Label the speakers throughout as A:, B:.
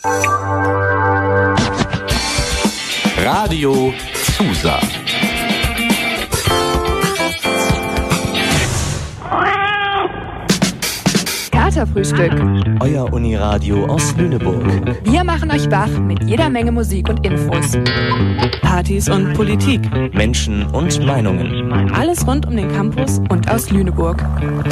A: Radio Susa.
B: Katerfrühstück.
C: Euer Uniradio aus Lüneburg.
B: Wir machen euch wach mit jeder Menge Musik und Infos. Partys und Politik.
C: Menschen und Meinungen.
B: Alles rund um den Campus und aus Lüneburg.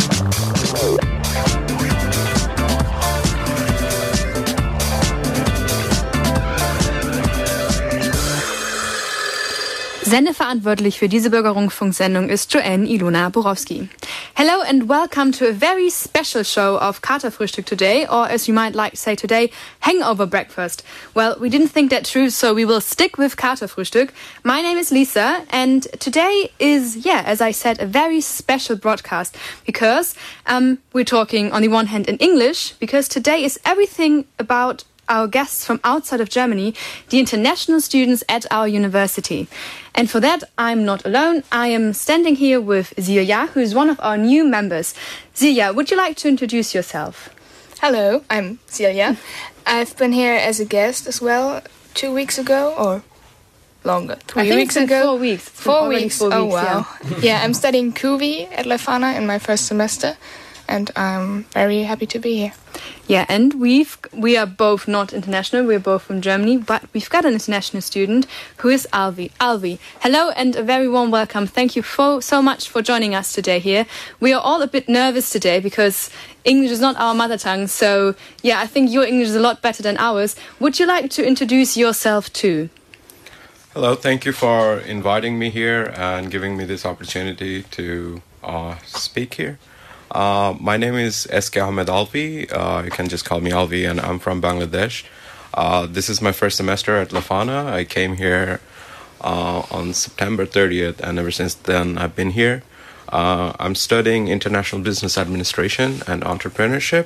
B: Sendeverantwortlich für diese Bürgerrundfunksendung ist Joanne Ilona Borowski. Hello and welcome to a very special show of Katerfrühstück today, or as you might like to say today, hangover breakfast. Well, we didn't think that true, so we will stick with Katerfrühstück. My name is Lisa, and today is, as I said, a very special broadcast because we're talking on the one hand in English, because today is everything about our guests from outside of Germany, the international students at our university. And for that, I'm not alone. I am standing here with Silja, who is one of our new members. Silja, would you like to introduce yourself?
D: Hello, I'm Silja. I've been here as a guest as well 2 weeks ago, or longer. 3 weeks ago.
B: 4 weeks.
D: 4 weeks.
B: 4 weeks.
D: Oh, wow. Yeah, I'm studying QV at Leuphana in my first semester, and I'm very happy to be here.
B: Yeah, and we are both not international, we're both from Germany, but we've got an international student who is Alvi. Alvi, hello and a very warm welcome. Thank you so much for joining us today here. We are all a bit nervous today because English is not our mother tongue, so I think your English is a lot better than ours. Would you like to introduce yourself too?
E: Hello, thank you for inviting me here and giving me this opportunity to speak here. My name is SK Ahmed Alvi. You can just call me Alvi, and I'm from Bangladesh. This is my first semester at Leuphana. I came here on September 30th, and ever since then I've been here. I'm studying International Business Administration and Entrepreneurship.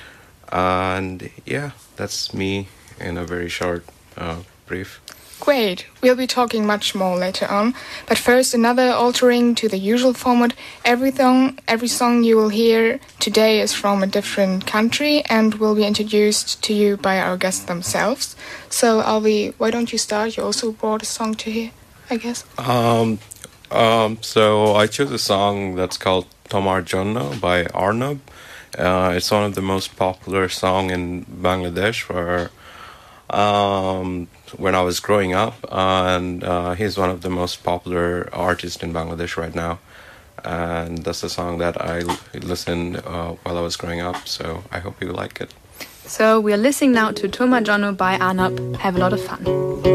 E: And that's me in a very short brief.
D: Great. We'll be talking much more later on. But first, another altering to the usual format. Every song you will hear today is from a different country and will be introduced to you by our guests themselves. So, Alvi, why don't you start? You also brought a song to hear, I guess.
E: So I chose a song that's called Tomar Jonna by Arnab. It's one of the most popular songs in Bangladesh when I was growing up, and he's one of the most popular artists in Bangladesh right now, and that's the song that I listened while I was growing up, so I hope you like it.
B: So we are listening now to Tomar Jonna by Arnab. Have a lot of fun.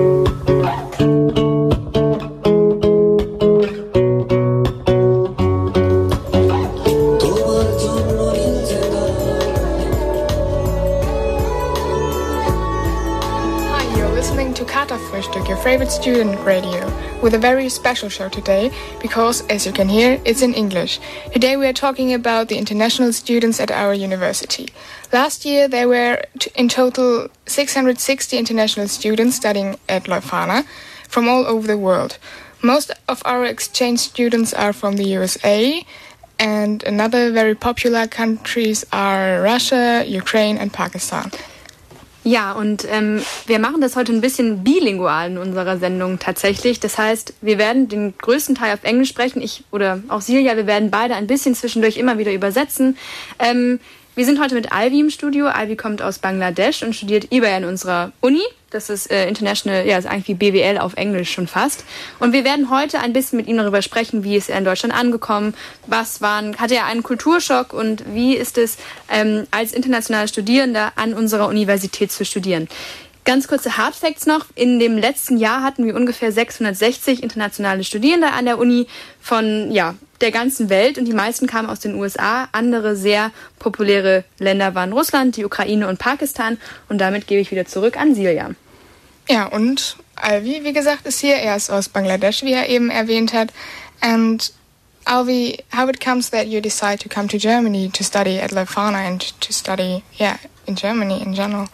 D: Katerfrühstück, your favorite student radio, with a very special show today because, as you can hear, it's in English. Today we are talking about the international students at our university. Last year there were in total 660 international students studying at Leuphana from all over the world. Most of our exchange students are from the USA, and another very popular countries are Russia, Ukraine and Pakistan.
B: Ja, und wir machen das heute ein bisschen bilingual in unserer Sendung tatsächlich. Das heißt, wir werden den größten Teil auf Englisch sprechen. Ich oder auch Silja, wir werden beide ein bisschen zwischendurch immer wieder übersetzen. Wir sind heute mit Alvi im Studio. Alvi kommt aus Bangladesch und studiert IBA in unserer Uni. Das ist International, ist eigentlich wie BWL auf Englisch schon fast. Und wir werden heute ein bisschen mit ihm darüber sprechen, wie ist er in Deutschland angekommen, hatte er einen Kulturschock und wie ist es, als internationaler Studierender an unserer Universität zu studieren. Ganz kurze Hardfacts noch. In dem letzten Jahr hatten wir ungefähr 660 internationale Studierende an der Uni von der ganzen Welt und die meisten kamen aus den USA. Andere sehr populäre Länder waren Russland, die Ukraine und Pakistan. Und damit gebe ich wieder zurück an Silja.
D: Ja, und Alvi, wie gesagt, ist hier. Er ist aus Bangladesch, wie er eben erwähnt hat. And Alvi, how it comes that you decide to come to Germany to study at Leuphana and to study, in Germany in general?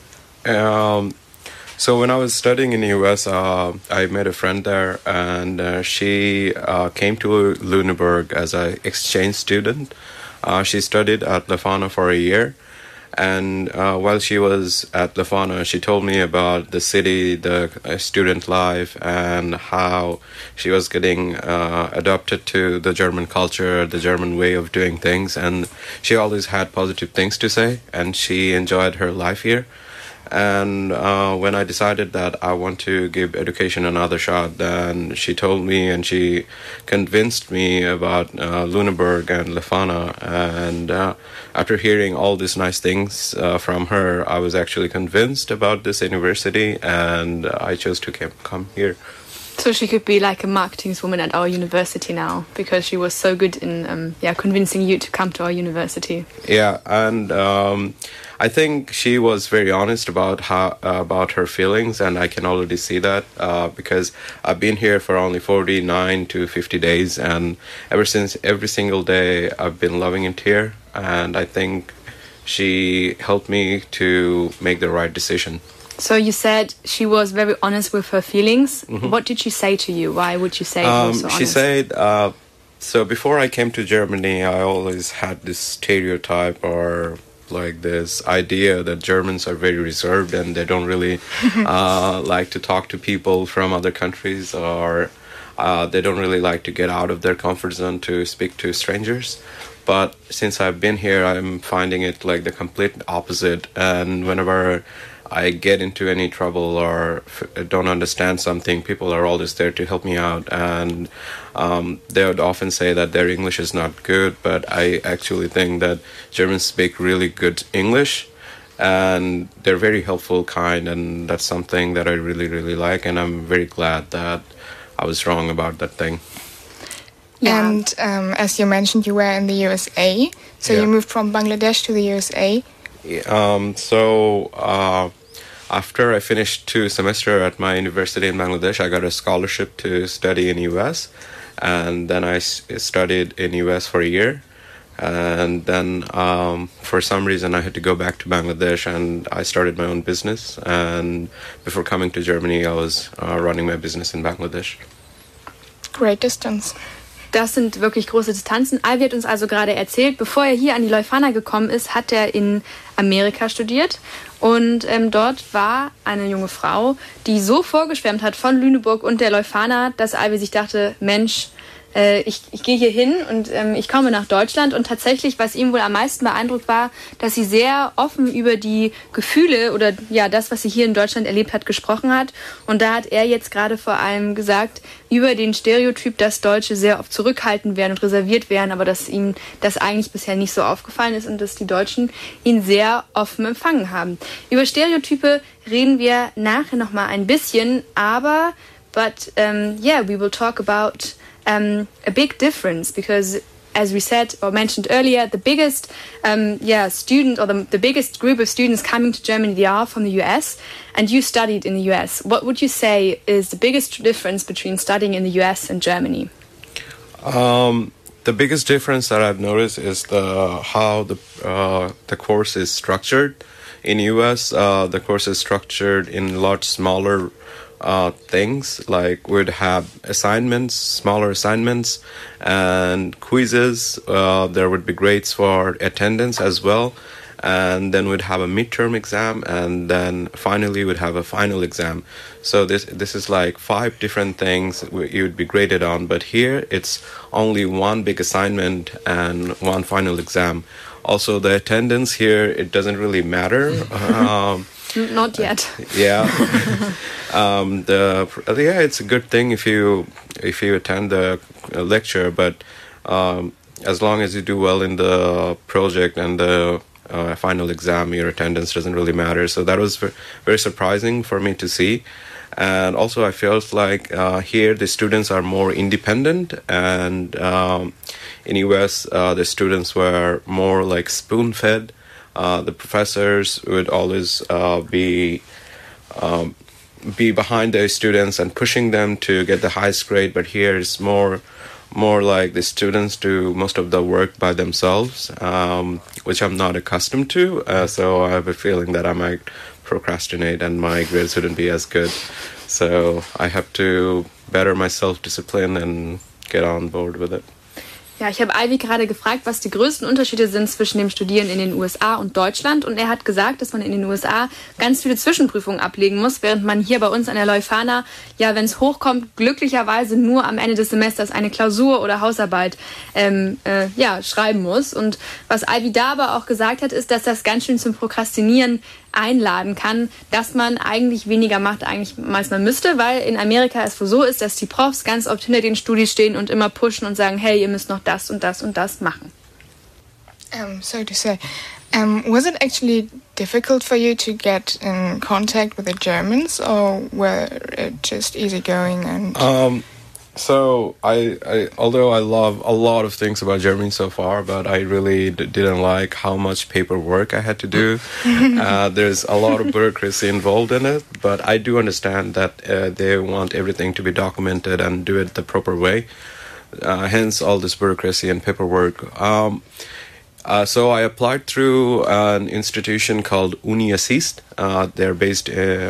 E: So when I was studying in the US, I met a friend there, and she came to Lüneburg as an exchange student. She studied at Leuphana for a year, And while she was at Lefana, she told me about the city, the student life, and how she was getting adapted to the German culture, the German way of doing things. And she always had positive things to say, and she enjoyed her life here. And when I decided that I want to give education another shot, then she told me and she convinced me about Lüneburg and Lefana. And after hearing all these nice things from her, I was actually convinced about this university, and I chose to come here.
B: So she could be like a marketingswoman at our university now, because she was so good in convincing you to come to our university.
E: Yeah, and I think she was very honest about her feelings, and I can already see that because I've been here for only 49 to 50 days, and ever since, every single day I've been loving it here, and I think she helped me to make the right decision.
B: So you said she was very honest with her feelings. Mm-hmm. What did she say to you? Why would you say she was so honest?
E: She said, so before I came to Germany, I always had this stereotype or like this idea that Germans are very reserved and they don't really like to talk to people from other countries, or they don't really like to get out of their comfort zone to speak to strangers. But since I've been here, I'm finding it like the complete opposite. And whenever I get into any trouble or don't understand something, people are always there to help me out. And they would often say that their English is not good, but I actually think that Germans speak really good English, and they're very helpful, kind, and that's something that I really, really like. And I'm very glad that I was wrong about that thing.
D: Yeah. And as you mentioned, you were in the USA, so you moved from Bangladesh to the USA.
E: After I finished 2 semesters at my university in Bangladesh, I got a scholarship to study in US, and then I studied in US for a year, and then for some reason I had to go back to Bangladesh, and I started my own business. And before coming to Germany, I was running my business in Bangladesh.
D: Great distance.
B: Das sind wirklich große Distanzen. Alvi hat uns also gerade erzählt, bevor er hier an die Leuphana gekommen ist, hat er in Amerika studiert. Und dort war eine junge Frau, die so vorgeschwärmt hat von Lüneburg und der Leuphana, dass Alvi sich dachte, Mensch, ich gehe hier hin und ich komme nach Deutschland. Und tatsächlich, was ihm wohl am meisten beeindruckt war, dass sie sehr offen über die Gefühle oder ja das, was sie hier in Deutschland erlebt hat, gesprochen hat. Und da hat er jetzt gerade vor allem gesagt, über den Stereotyp, dass Deutsche sehr oft zurückhaltend wären und reserviert wären, aber dass ihm das eigentlich bisher nicht so aufgefallen ist und dass die Deutschen ihn sehr offen empfangen haben. Über Stereotype reden wir nachher nochmal ein bisschen, aber we will talk about a big difference, because as we said or mentioned earlier, the biggest student or the biggest group of students coming to Germany, they are from the US, and you studied in the US. What would you say is the biggest difference between studying in the US and Germany?
E: The biggest difference that I've noticed is how the course is structured. In US, the course is structured in a lot smaller things, like we'd have assignments, smaller assignments, and quizzes. There would be grades for attendance as well, and then we'd have a midterm exam, and then finally we'd have a final exam. So this is like 5 different things you would be graded on, but here it's only one big assignment and one final exam. Also, the attendance here, it doesn't really matter.
B: Not yet.
E: Yeah. It's a good thing if you attend the lecture, but as long as you do well in the project and the final exam, your attendance doesn't really matter. So that was very surprising for me to see. And also I felt like here the students are more independent, and in US the students were more like spoon-fed. The professors would always be behind the students and pushing them to get the highest grade, but here it's more like the students do most of the work by themselves, which I'm not accustomed to. So I have a feeling that I might procrastinate and my grades wouldn't be as good. So I have to better my self-discipline and get on board with it.
B: Ja, ich habe Ivy gerade gefragt, was die größten Unterschiede sind zwischen dem Studieren in den USA und Deutschland. Und er hat gesagt, dass man in den USA ganz viele Zwischenprüfungen ablegen muss, während man hier bei uns an der Leuphana, ja, wenn es hochkommt, glücklicherweise nur am Ende des Semesters eine Klausur oder Hausarbeit schreiben muss. Und was Ivy da aber auch gesagt hat, ist, dass das ganz schön zum Prokrastinieren einladen kann, dass man eigentlich weniger macht, als man müsste, weil in Amerika es so ist, dass die Profs ganz oft hinter den Studis stehen und immer pushen und sagen, hey, ihr müsst noch das und das und das machen.
D: So to say, was it actually difficult for you to get in contact with the Germans, or were it just easygoing and...
E: So although I love a lot of things about Germany so far, but I really didn't like how much paperwork I had to do. There's a lot of bureaucracy involved in it, but I do understand that they want everything to be documented and do it the proper way. Hence all this bureaucracy and paperwork. So I applied through an institution called Uni Assist. They're based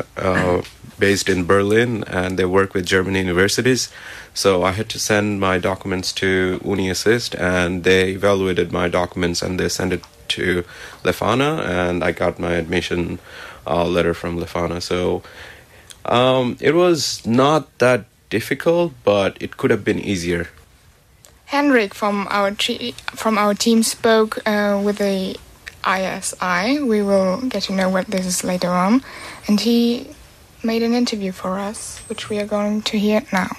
E: in Berlin, and they work with German universities. So I had to send my documents to Uni Assist, and they evaluated my documents and they sent it to Leuphana, and I got my admission letter from Leuphana. So it was not that difficult, but it could have been easier.
D: Henrik from our team spoke with the ISI. We will get to know what this is later on. And he made an interview for us, which we are going to hear now.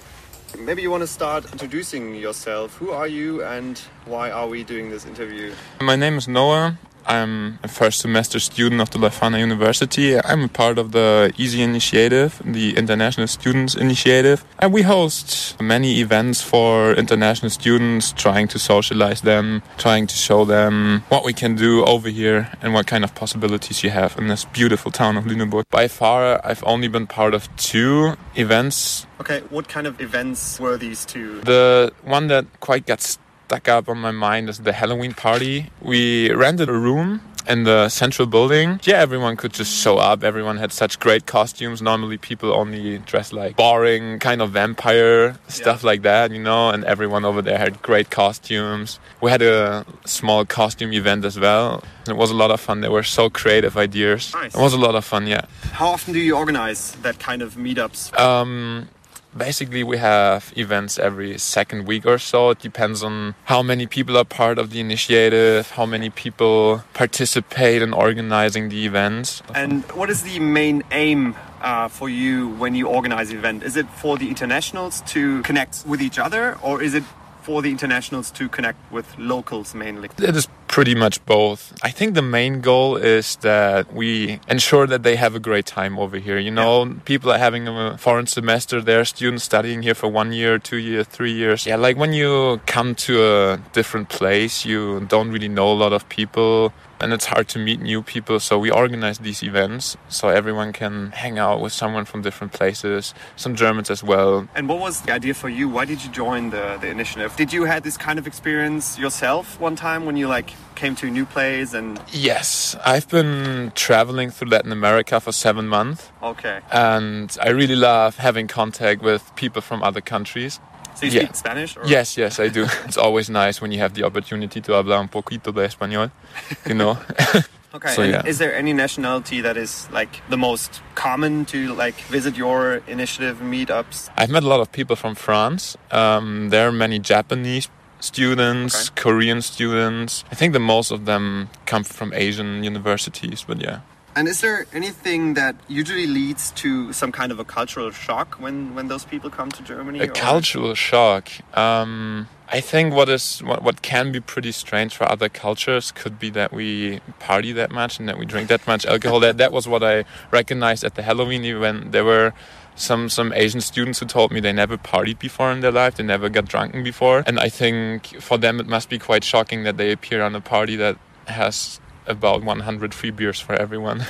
F: Maybe you want to start introducing yourself. Who are you and why are we doing this interview?
G: My name is Noah. I'm a first semester student of the Leuphana University. I'm a part of the EASY Initiative, the International Students Initiative. And we host many events for international students, trying to socialize them, trying to show them what we can do over here and what kind of possibilities you have in this beautiful town of Lüneburg. By far, I've only been part of 2 events.
F: Okay, what kind of events were these 2?
G: The one that quite gets stuck up on my mind is the Halloween party. We rented a room in the central building. Yeah, everyone could just show up. Everyone had such great costumes. Normally people only dress like boring kind of vampire stuff like that, you know, and everyone over there had great costumes. We had a small costume event as well. It was a lot of fun. There were so creative ideas.
F: Nice.
G: It was a lot of fun, yeah.
F: How often do you organize that kind of meetups?
G: Basically, we have events every second week or so. It depends on how many people are part of the initiative, how many people participate in organizing the events.
F: And what is the main aim for you when you organize an event? Is it for the internationals to connect with each other, or is it for the internationals to connect with locals mainly?
G: It is pretty much both. I think the main goal is that we ensure that they have a great time over here. You know, people are having a foreign semester. There are students studying here for 1 year, 2 years, 3 years. Yeah, like when you come to a different place, you don't really know a lot of people. And it's hard to meet new people, so we organize these events so everyone can hang out with someone from different places, some Germans as well.
F: And what was the idea for you? Why did you join the initiative? Did you have this kind of experience yourself one time when you came to a new place? And
G: yes, I've been traveling through Latin America for 7 months.
F: Okay.
G: And I really love having contact with people from other countries.
F: So you speak Spanish? Or?
G: Yes, I do. It's always nice when you have the opportunity to hablar un poquito de español, you know.
F: Okay,
G: so,
F: and is there any nationality that is the most common to visit your initiative meetups?
G: I've met a lot of people from France. There are many Japanese students, Korean students. I think the most of them come from Asian universities, but yeah.
F: And is there anything that usually leads to some kind of a cultural shock when those people come to Germany?
G: Cultural shock? I think what can be pretty strange for other cultures could be that we party that much and that we drink that much alcohol. That was what I recognized at the Halloween event. There were some Asian students who told me they never partied before in their life, they never got drunken before. And I think for them it must be quite shocking that they appear on a party that has about 100 free beers for everyone.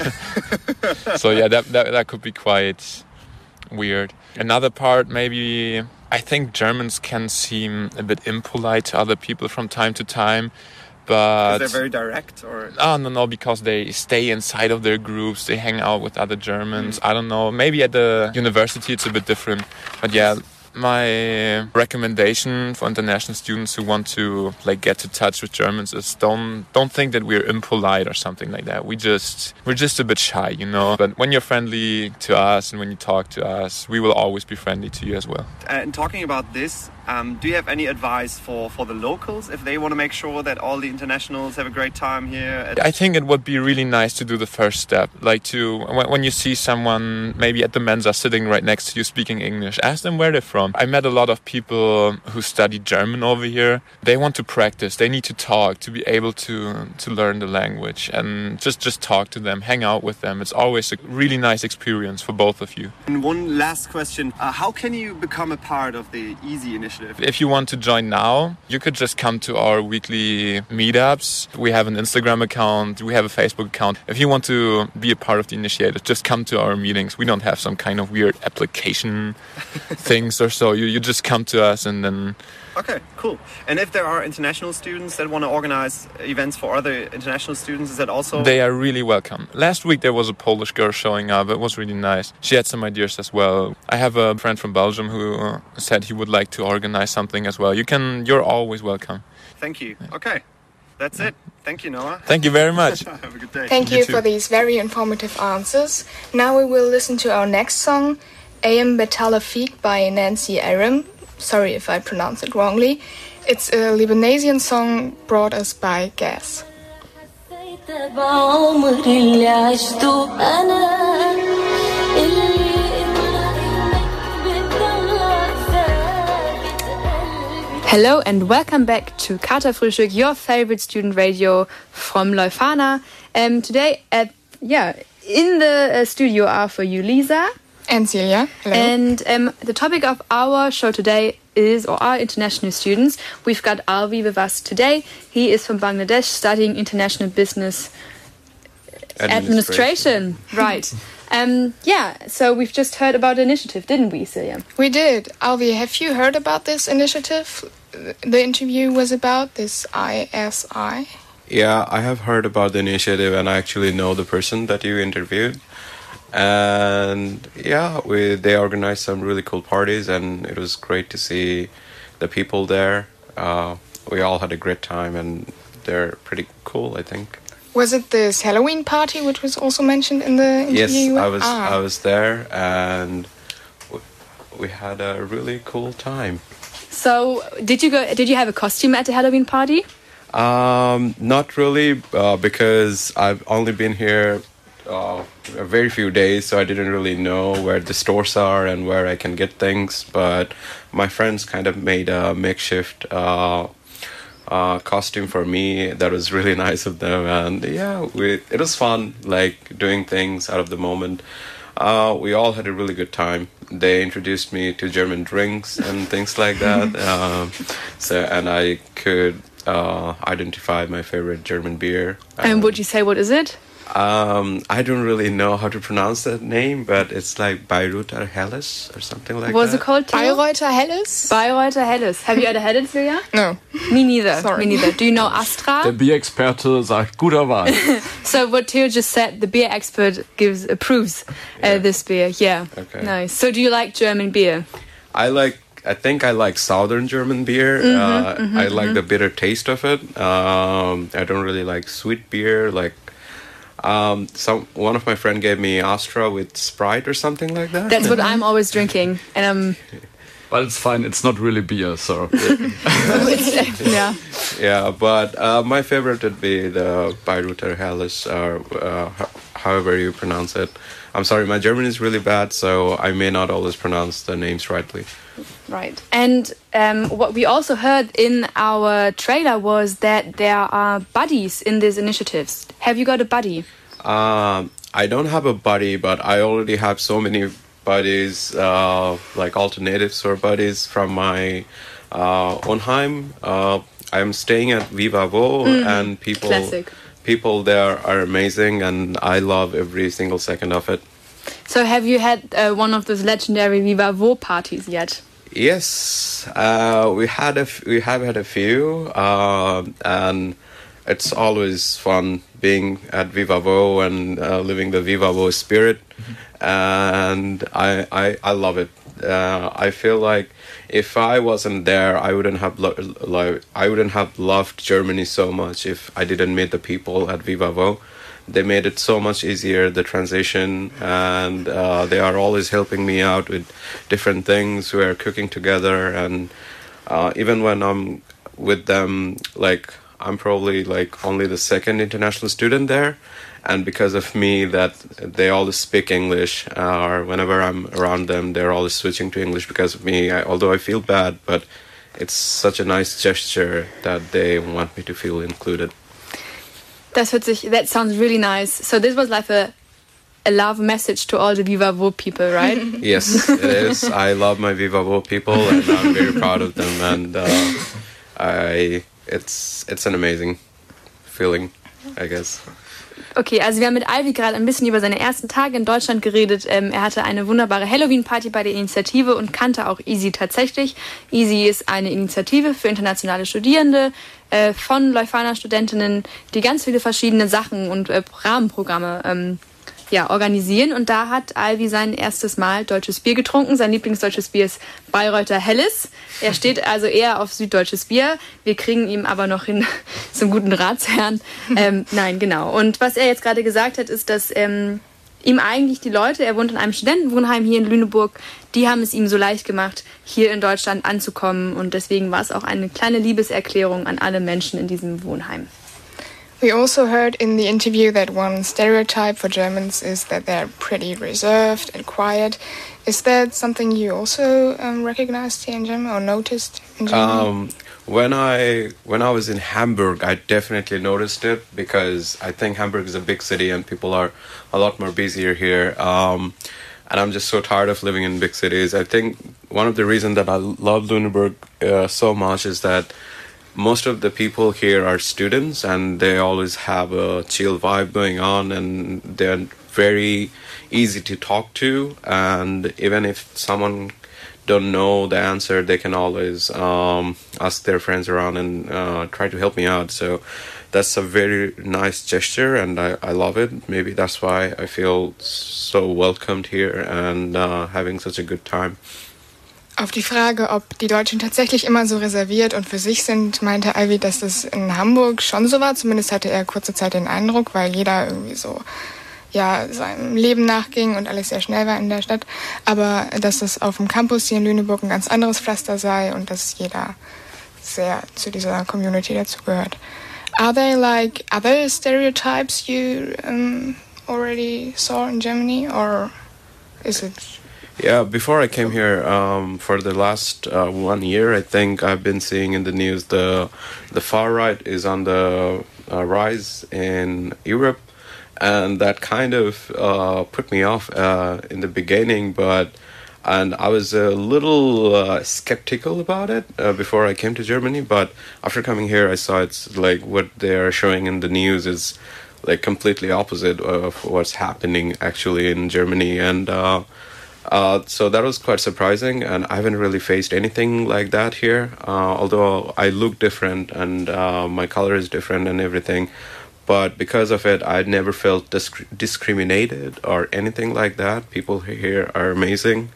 G: So yeah, that could be quite weird. Another part, maybe, I think Germans can seem a bit impolite to other people from time to time. But
F: they're very direct, or?
G: Oh, no, because they stay inside of their groups, they hang out with other Germans. I don't know, maybe at the university it's a bit different. But yeah, My recommendation for international students who want to get to touch with Germans is don't think that we're impolite or something like that. We're just a bit shy, But when you're friendly to us and when you talk to us, we will always be friendly to you as well.
F: And talking about this, do you have any advice for the locals if they want to make sure that all the internationals have a great time here?
G: I think it would be really nice to do the first step, when you see someone maybe at the Mensa sitting right next to you speaking English, ask them where they're from. I met a lot of people who study German over here. They want to practice. They need to talk to be able to learn the language, and just talk to them, hang out with them. It's always a really nice experience for both of you.
F: And one last question. How can you become a part of the EASY initiative?
G: If you want to join now, you could just come to our weekly meetups. We have an Instagram account. We have a Facebook account. If you want to be a part of the initiative, just come to our meetings. We don't have some kind of weird application things or so. You just come to us and then...
F: Okay, cool. And if there are international students that want to organize events for other international students, is that also...
G: They are really welcome. Last week there was a Polish girl showing up. It was really nice. She had some ideas as well. I have a friend from Belgium who said he would like to organize something as well. You're always welcome.
F: Thank you. Okay. That's it. Thank you, Noah.
G: Thank you very much.
F: Have a good day.
D: Thank you for these very informative answers. Now we will listen to our next song, Ayam Betalafik by Nancy Aram. Sorry if I pronounce it wrongly. It's a Lebanese song brought us by Gas.
B: Hello and welcome back to Katerfrühstück, your favorite student radio from Leuphana. Today, in the studio are for you Lisa
D: and Celia. Hello.
B: And the topic of our show today are international students. We've got Alvi with us today. He is from Bangladesh studying international business administration. Right. So we've just heard about the initiative, didn't we, Celia?
D: We did. Alvi, have you heard about this initiative? The interview was about this ISI.
E: Yeah, I have heard about the initiative and I actually know the person that you interviewed. And they organized some really cool parties and it was great to see the people there. We all had a great time and they're pretty cool, I think.
D: Was it this Halloween party which was also mentioned in the interview?
E: Yes, I was there and we had a really cool time.
B: So, did you have a costume at the Halloween party?
E: Not really, because I've only been here a very few days, so I didn't really know where the stores are and where I can get things. But my friends kind of made a makeshift costume for me. That was really nice of them, and it was fun, doing things out of the moment. We all had a really good time. They introduced me to German drinks and things like that. And I could identify my favorite German beer.
B: And would you say what is it?
E: I don't really know how to pronounce that name, but it's like Bayreuther Helles or something like that.
B: What's it called?
D: Bayreuther Helles?
B: Bayreuther Helles. Have you ever had it, Silja?
D: No.
B: Me neither.
D: Sorry.
B: Me neither. Do you know Astra?
A: Der Bierexperte sagt guter Wahl.
B: So what Theo just said, the beer expert approves this beer. Yeah.
E: Okay.
B: Nice. So do you like German beer?
E: I think I like Southern German beer. I like the bitter taste of it. I don't really like sweet beer. One of my friend gave me Astra with Sprite or something like that.
B: That's what I'm always drinking, and
A: Well, it's fine. It's not really beer, so.
B: yeah.
E: Yeah, but my favorite would be the Bayreuther Helles, or however you pronounce it. I'm sorry, my German is really bad, so I may not always pronounce the names rightly.
B: Right. And what we also heard in our trailer was that there are buddies in these initiatives. Have you got a buddy?
E: I don't have a buddy, but I already have so many buddies, like alternatives or buddies from my Onheim. I'm staying at Viva Vo, and people there are amazing, and I love every single second of it.
B: So have you had one of those legendary Viva Vo parties yet?
E: Yes, we have had a few, and it's always fun being at Viva Vo and living the Viva Vo spirit, and I love it. I feel like if I wasn't there, I wouldn't have loved Germany so much if I didn't meet the people at Vivavo. They made it so much easier, the transition, and they are always helping me out with different things. We're cooking together, and even when I'm with them, like, I'm probably like only the second international student there, and because of me, that they always speak English, or whenever I'm around them, they're always switching to English because of me. Although I feel bad, but it's such a nice gesture that they want me to feel included.
B: That sounds really nice. So this was like a love message to all the Vivavo people, right?
E: Yes, it is. I love my Vivavo people, and I'm very proud of them. And it's an amazing feeling, I guess.
B: Okay, also wir haben mit Alvi gerade ein bisschen über seine ersten Tage in Deutschland geredet. Er hatte eine wunderbare Halloween-Party bei der Initiative und kannte auch EASY tatsächlich. EASY ist eine Initiative für internationale Studierende von Leuphana-Studentinnen, die ganz viele verschiedene Sachen und Rahmenprogramme organisieren. Und da hat Alvi sein erstes Mal deutsches Bier getrunken. Sein Lieblingsdeutsches Bier ist Bayreuther Helles. Er steht also eher auf süddeutsches Bier. Wir kriegen ihm aber noch hin zum guten Ratsherrn. Nein, genau. Und was er jetzt gerade gesagt hat, ist, dass ihm eigentlich die Leute, er wohnt in einem Studentenwohnheim hier in Lüneburg, die haben es ihm so leicht gemacht, hier in Deutschland anzukommen. Und deswegen war es auch eine kleine Liebeserklärung an alle Menschen in diesem Wohnheim.
D: We also heard in the interview that one stereotype for Germans is that they're pretty reserved and quiet. Is that something you also recognized here in Germany or noticed in Germany?
E: When I was in Hamburg, I definitely noticed it because I think Hamburg is a big city and people are a lot more busier here. And I'm just so tired of living in big cities. I think one of the reasons that I love Lüneburg so much is that most of the people here are students and they always have a chill vibe going on and they're very easy to talk to, and even if someone don't know the answer, they can always ask their friends around and try to help me out. So that's a very nice gesture and I love it. Maybe that's why I feel so welcomed here and having such a good time.
D: Auf die Frage, ob die Deutschen tatsächlich immer so reserviert und für sich sind, meinte Alvi, dass das in Hamburg schon so war. Zumindest hatte er kurze Zeit den Eindruck, weil jeder irgendwie so seinem Leben nachging und alles sehr schnell war in der Stadt. Aber dass das auf dem Campus hier in Lüneburg ein ganz anderes Pflaster sei und dass jeder sehr zu dieser Community dazugehört. Are there like other stereotypes you already saw in Germany, or is it...
E: Yeah, before I came here, for the last 1 year, I think I've been seeing in the news the far right is on the rise in Europe, and that kind of put me off in the beginning, and I was a little skeptical about it before I came to Germany, but after coming here, I saw it's like what they're showing in the news is like completely opposite of what's happening actually in Germany, and so that was quite surprising, and I haven't really faced anything like that here, although I look different and my color is different and everything. But because of it, I never felt discriminated or anything like that. People here are amazing.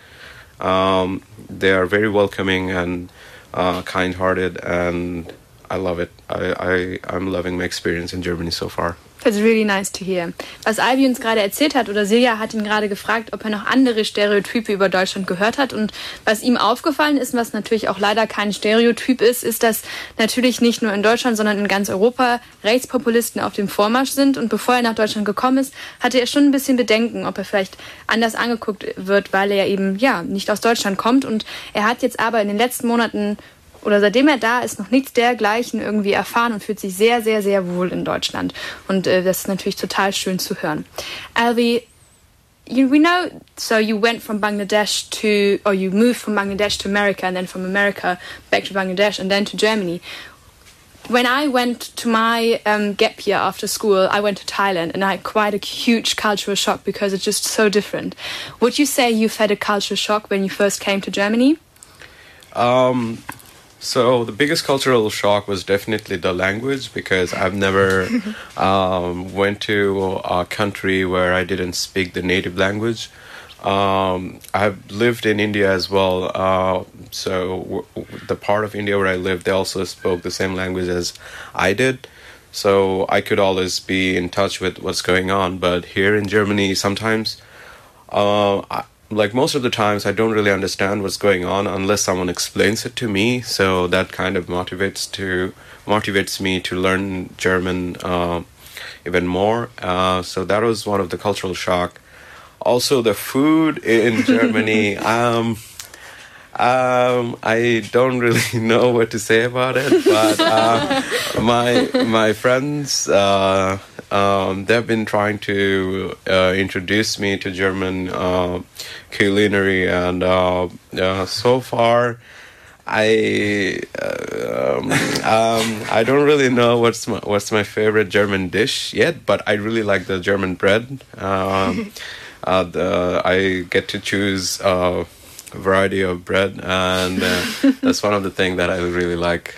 E: They are very welcoming and kind-hearted, and I love it. I'm loving my experience in Germany so far.
B: That's really nice to hear. Was Alvi uns gerade erzählt hat, oder Silja hat ihn gerade gefragt, ob er noch andere Stereotype über Deutschland gehört hat. Und was ihm aufgefallen ist, was natürlich auch leider kein Stereotyp ist, dass natürlich nicht nur in Deutschland, sondern in ganz Europa Rechtspopulisten auf dem Vormarsch sind. Und bevor er nach Deutschland gekommen ist, hatte er schon ein bisschen Bedenken, ob er vielleicht anders angeguckt wird, weil er eben nicht aus Deutschland kommt. Und er hat jetzt aber in den letzten Monaten oder seitdem er da ist, noch nichts dergleichen irgendwie erfahren und fühlt sich sehr, sehr, sehr wohl in Deutschland. Und das ist natürlich total schön zu hören. Alvi, we know, so you went from Bangladesh or you moved from Bangladesh to America and then from America back to Bangladesh and then to Germany. When I went to my gap year after school, I went to Thailand and I had quite a huge cultural shock because it's just so different. Would you say you've had a cultural shock when you first came to Germany?
E: So the biggest cultural shock was definitely the language, because I've never went to a country where I didn't speak the native language. I've lived in India as well, so the part of India where I lived, they also spoke the same language as I did. So I could always be in touch with what's going on. But here in Germany, sometimes, like most of the times, I don't really understand what's going on unless someone explains it to me. So that kind of motivates me to learn German even more. So that was one of the cultural shock. Also, the food in Germany. I don't really know what to say about it, but my friends, they've been trying to introduce me to German culinary, and so far, I don't really know what's my favorite German dish yet, but I really like the German bread. I get to choose a variety of bread, and that's one of the things that I really like.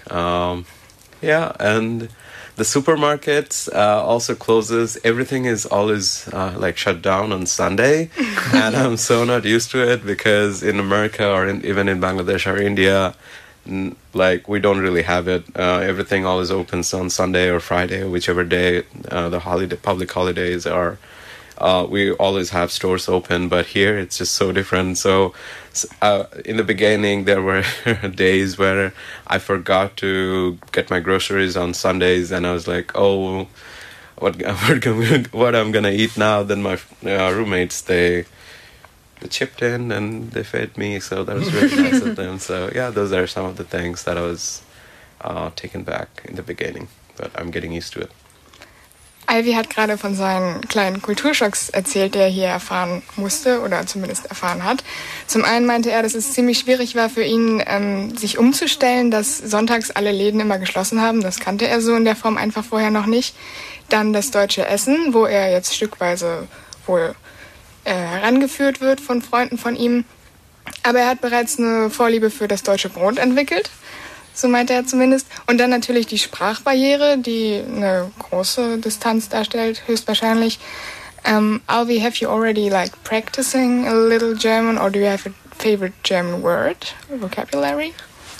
E: And the supermarkets also closes. Everything is always like shut down on Sunday, and I'm so not used to it, because in America or even in Bangladesh or India, like we don't really have it. Everything always opens on Sunday or Friday, or whichever day the public holidays are. We always have stores open, but here it's just so different. So in the beginning, there were days where I forgot to get my groceries on Sundays, and I was like, oh, what I'm gonna eat now? Then my roommates, they chipped in and they fed me, so that was really nice of them. So yeah, those are some of the things that I was taken back in the beginning, but I'm getting used to it.
D: Ivy hat gerade von seinen kleinen Kulturschocks erzählt, die er hier erfahren musste oder zumindest erfahren hat. Zum einen meinte er, dass es ziemlich schwierig war für ihn, sich umzustellen, dass sonntags alle Läden immer geschlossen haben. Das kannte er so in der Form einfach vorher noch nicht. Dann das deutsche Essen, wo er jetzt stückweise wohl herangeführt wird von Freunden von ihm. Aber er hat bereits eine Vorliebe für das deutsche Brot entwickelt. So meinte er zumindest. Und dann natürlich die Sprachbarriere, die eine große Distanz darstellt, höchstwahrscheinlich. Alvi, have you already practicing a little German, or do you have a favorite German word or vocabulary?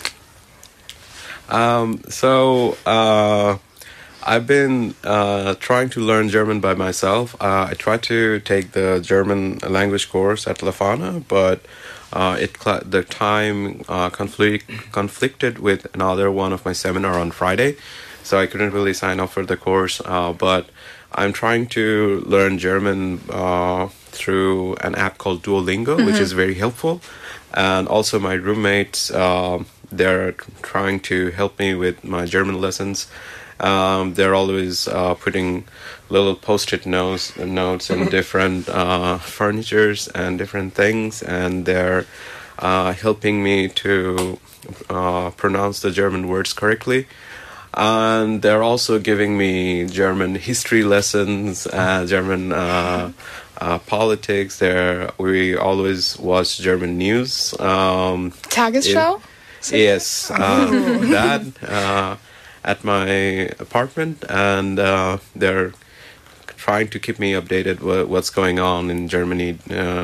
E: I've been trying to learn German by myself. I tried to take the German language course at Lefana, but the time conflicted with another one of my seminar on Friday, so I couldn't really sign up for the course. But I'm trying to learn German through an app called Duolingo, which is very helpful. And also my roommates, they're trying to help me with my German lessons. They're always putting little post-it notes in different furnitures and different things, and they're helping me to pronounce the German words correctly. And they're also giving me German history lessons, German politics. We always watch German news.
D: Tagesschau?
E: Yes, that at my apartment, and they're trying to keep me updated what's going on in Germany.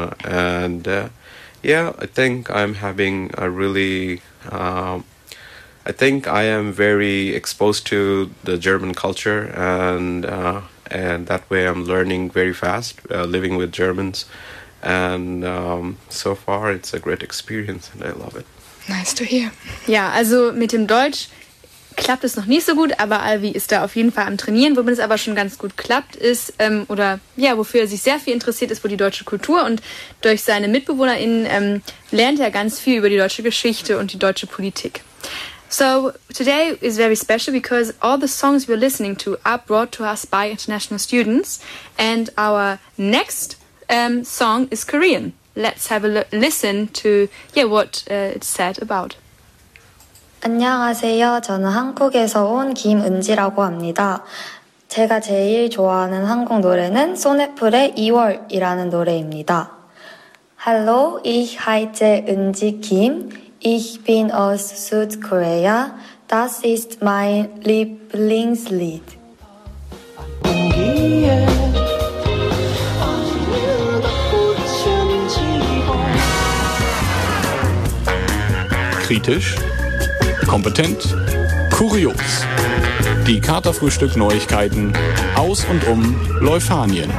E: I think I'm having a really... I think I am very exposed to the German culture, and that way I'm learning very fast, living with Germans. And so far it's a great experience, and I love it.
D: Nice to hear.
B: Ja, also mit dem Deutsch klappt es noch nicht so gut, aber Alvi ist da auf jeden Fall am Trainieren. Womit es aber schon ganz gut klappt, ist, wofür er sich sehr viel interessiert, ist wohl die deutsche Kultur. Und durch seine MitbewohnerInnen lernt er ganz viel über die deutsche Geschichte und die deutsche Politik. So today is very special because all the songs we're listening to are brought to us by international students, and our next song is Korean. Let's have a listen to what it's said about.
H: 안녕하세요. 저는 한국에서 온 김은지라고 합니다. 제가 제일 좋아하는 한국 노래는 소네플의 2월이라는 노래입니다. Hallo, ich heiße Unji Kim. Ich bin aus Südkorea. Das ist mein Lieblingslied.
I: Kritisch, kompetent, kurios. Die Katerfrühstück-Neuigkeiten aus und um Leuphánien.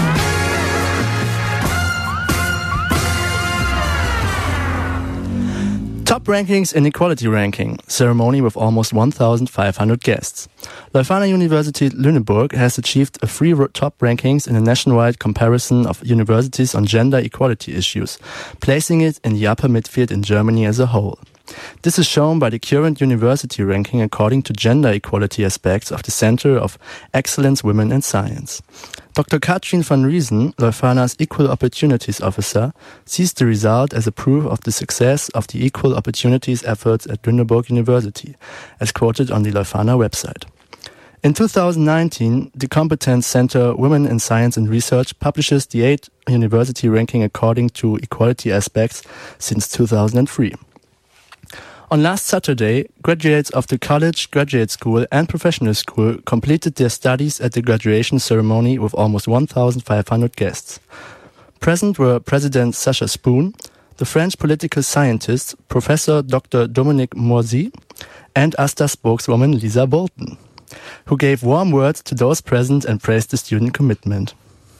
J: Top Rankings in Equality Ranking, ceremony with almost 1,500 guests. Leuphana University Lüneburg has achieved a top rankings in a nationwide comparison of universities on gender equality issues, placing it in the upper midfield in Germany as a whole. This is shown by the current university ranking according to gender equality aspects of the Center of Excellence Women in Science. Dr. Katrin van Riesen, Leuphana's Equal Opportunities Officer, sees the result as a proof of the success of the equal opportunities efforts at Lüneburg University, as quoted on the Leuphana website. In 2019, the Competence Center Women in Science and Research publishes the 8th university ranking according to equality aspects since 2003. On last Saturday, graduates of the college, graduate school and professional school completed their studies at the graduation ceremony with almost 1,500 guests. Present were President Sacha Spoon, the French political scientist Professor Dr. Dominique Moisy, and ASTA spokeswoman Lisa Bolton, who gave warm words to those present and praised the student commitment.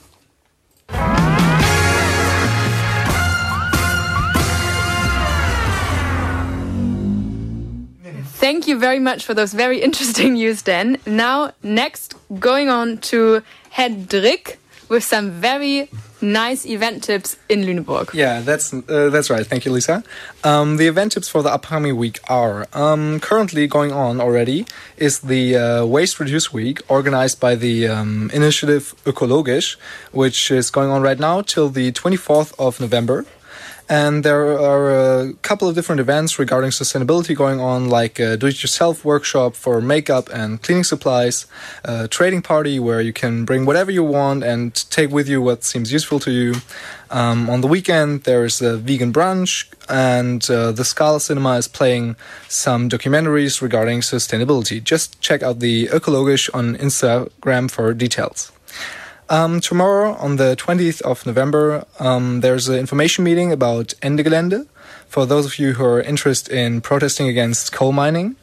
B: Thank you very much for those very interesting news, Dan. Now, next, going on to Hendrik with some very nice event tips in Lüneburg.
K: Yeah, that's right. Thank you, Lisa. The event tips for the upcoming week are currently going on already is the Waste Reduce Week organized by the initiative Ökologisch, which is going on right now till the 24th of November. And there are a couple of different events regarding sustainability going on, like a do-it-yourself workshop for makeup and cleaning supplies, a trading party where you can bring whatever you want and take with you what seems useful to you. On the weekend, there's a vegan brunch, and the Scala Cinema is playing some documentaries regarding sustainability. Just check out the Ökologisch on Instagram for details. Tomorrow, on the 20th of November, there's an information meeting about Ende Gelände for those of you who are interested in protesting against coal mining.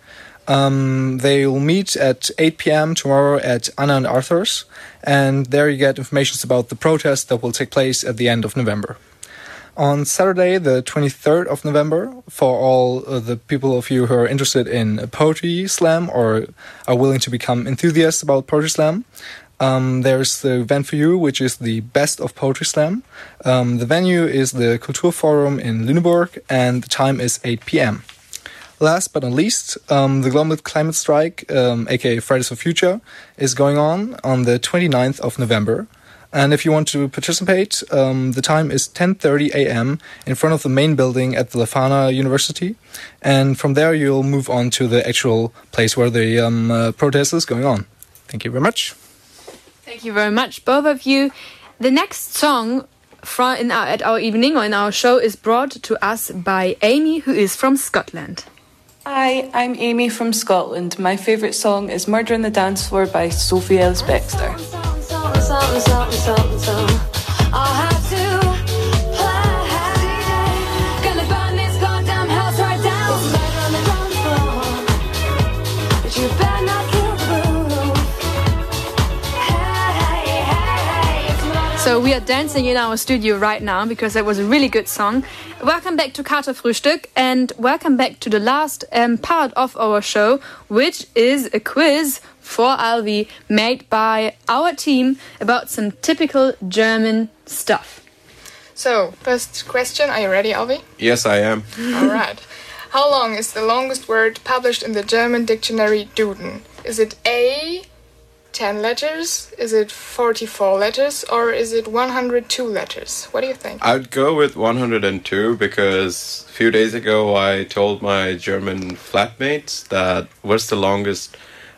K: They will meet at 8 p.m. tomorrow at Anna and Arthur's, and there you get information about the protest that will take place at the end of November. On Saturday, the 23rd of November, for all the people of you who are interested in poetry slam or are willing to become enthusiasts about poetry slam, there's the event for you, which is the Best of Poetry Slam. The venue is the Kulturforum in Lüneburg, and the time is 8 p.m. Last but not least, the Global Climate Strike, aka Fridays for Future, is going on the 29th of November. And if you want to participate, the time is 10:30 a.m. in front of the main building at the Leuphana University. And from there, you'll move on to the actual place where the protest is going on. Thank you very much.
B: Thank you very much, both of you. The next song at our evening or in our show is brought to us by Amy, who is from Scotland.
L: Hi, I'm Amy from Scotland. My favourite song is Murder on the Dance Floor by Sophie Ellis-Bextor.
B: So we are dancing in our studio right now because that was a really good song. Welcome back to Katerfrühstück and welcome back to the last part of our show, which is a quiz for Alvi made by our team about some typical German stuff.
D: So, first question, are you ready, Alvi?
E: Yes, I am.
D: All right. How long is the longest word published in the German dictionary Duden? Is it A, 10 letters, is it 44 letters, or is it 102 letters? What do you think?
E: I'd go with 102 because a few days ago I told my German flatmates that what's the longest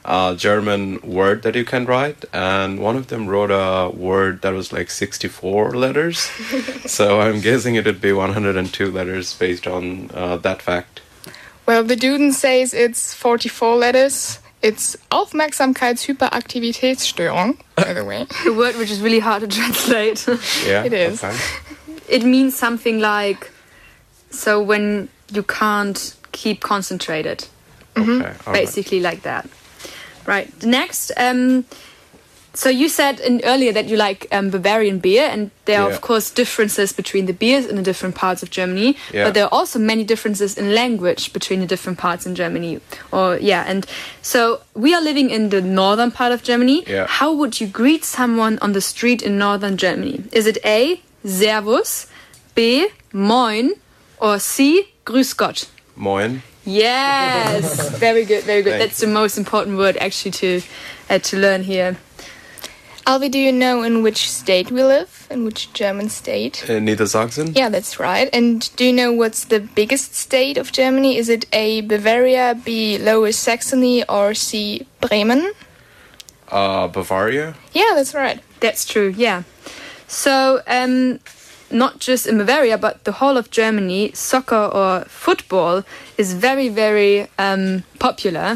E: German word that you can write, and one of them wrote a word that was like 64 letters. So I'm guessing it would be 102 letters based on that fact.
D: Well, the Duden says it's 44 letters. It's Aufmerksamkeitshyperaktivitätsstörung, by the way.
B: A word which is really hard to translate.
E: Yeah,
D: it is.
E: Okay.
B: It means something like, so when you can't keep concentrated.
E: Okay,
B: basically like that. Right. Next, so you said earlier that you like Bavarian beer, and there are of course differences between the beers in the different parts of Germany, but there are also many differences in language between the different parts in Germany. And so we are living in the northern part of Germany.
E: Yeah.
B: How would you greet someone on the street in northern Germany? Is it A, Servus, B, Moin, or C, Grüß Gott?
E: Moin.
B: Yes, very good, very good.
E: Thanks.
B: That's the most important word actually to learn here.
D: Alvi, do you know in which state we live? In which German state?
E: Niedersachsen?
D: Yeah, that's right. And do you know what's the biggest state of Germany? Is it A, Bavaria, B, Lower Saxony, or C, Bremen?
E: Bavaria?
D: Yeah, that's right.
B: That's true, yeah. So, not just in Bavaria, but the whole of Germany, soccer or football is very, very popular.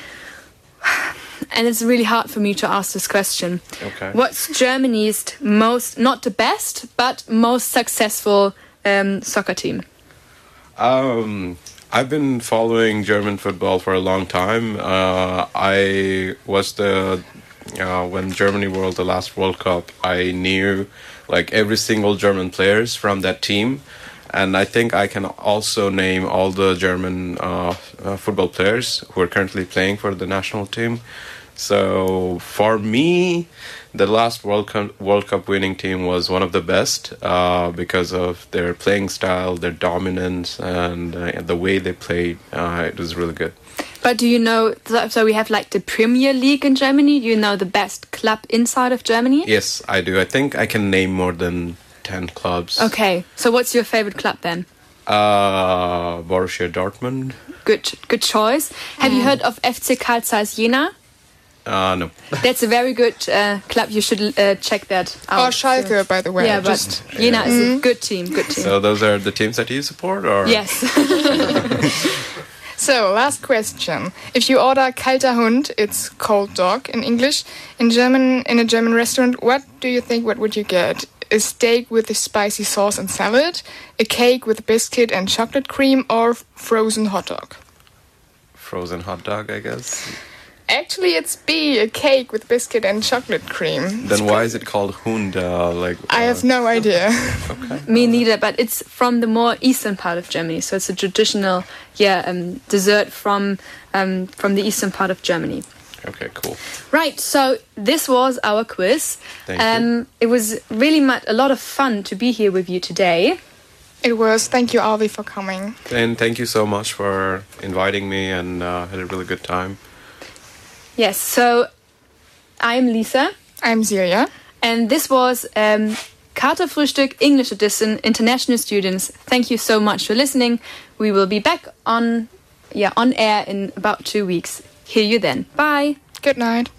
B: And it's really hard for me to ask this question.
E: Okay.
B: What's Germany's most, not the best, but most successful soccer team?
E: I've been following German football for a long time. I was when Germany won the last World Cup, I knew like every single German players from that team. And I think I can also name all the German football players who are currently playing for the national team. So for me, the last World Cup winning team was one of the best because of their playing style, their dominance, and the way they played. It was really good.
B: But do you know, so we have like the Premier League in Germany. Do you know the best club inside of Germany?
E: Yes, I do. I think I can name more than 10 clubs.
B: Okay, so what's your favorite club then?
E: Borussia Dortmund.
B: Good choice. Have you heard of FC Carl Zeiss Jena?
E: No.
B: That's a very good club. You should check that out.
D: Or Schalke, by the way.
B: Yeah, but Jena is a good team. Good team.
E: So those are the teams that you support, or?
B: Yes.
D: So, last question. If you order kalter Hund, it's cold dog in English, in a German restaurant, what do you think, what would you get? A steak with a spicy sauce and salad, a cake with biscuit and chocolate cream, or frozen hot dog?
E: Frozen hot dog, I guess.
D: Actually, it's B, a cake with biscuit and chocolate cream.
E: Then why is it called Hund?
D: I have no idea.
E: Okay.
B: Me neither, but it's from the more eastern part of Germany, so it's a traditional, dessert from the eastern part of Germany.
E: Okay, cool.
B: Right, so this was our quiz.
E: Thank you.
B: It was really a lot of fun to be here with you today.
D: It was. Thank you, Alvi, for coming.
E: And thank you so much for inviting me, and had a really good time.
B: Yes, so I'm Lisa.
D: I'm Celia.
B: And this was Katerfrühstück English Edition, International Students. Thank you so much for listening. We will be back on air in about 2 weeks. Hear you then. Bye.
D: Good night.